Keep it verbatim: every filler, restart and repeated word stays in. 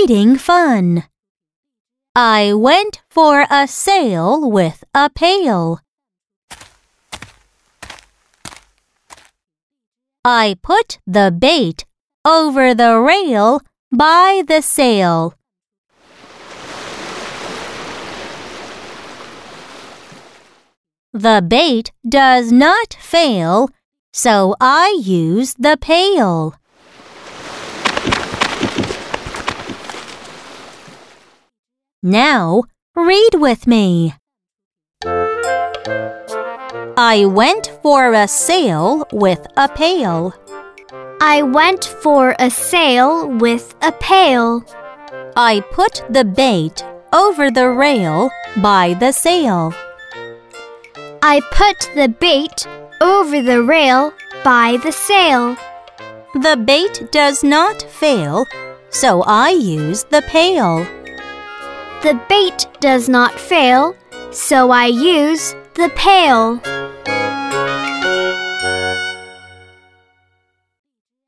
reading fun. I went for a sail with a pail. I put the bait over the rail by the sail. The bait does not fail, so I use the pail. Now, read with me. I went for a sail with a pail. I went for a sail with a pail. I put the bait over the rail by the sail. I put the bait over the rail by the sail. The bait does not fail, so I use the pail. The bait does not fail, so I use the pail.